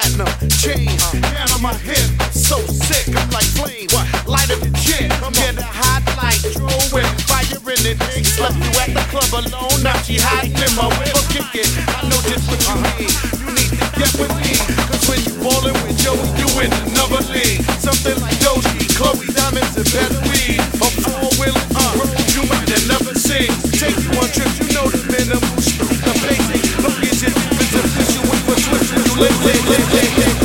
platinum chain down on my hip. So sick, I'm like flame. Lighter than shit. Get a hot light, throw it, fire in it. Slept you at the club alone. Now she hiding in my whip. Kick it. I know just what you need. You need to get with me. Cause when you ballin' with Joey, you in another league. Something like Doji, Chloe Diamonds, and better weed. A four-wheeler road you might have never seen. Take you on trips, you know the minimum. The basic. Look at your difference official when you switch when you live.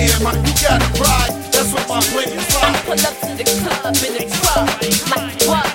Pull up to the club in the truck, like what?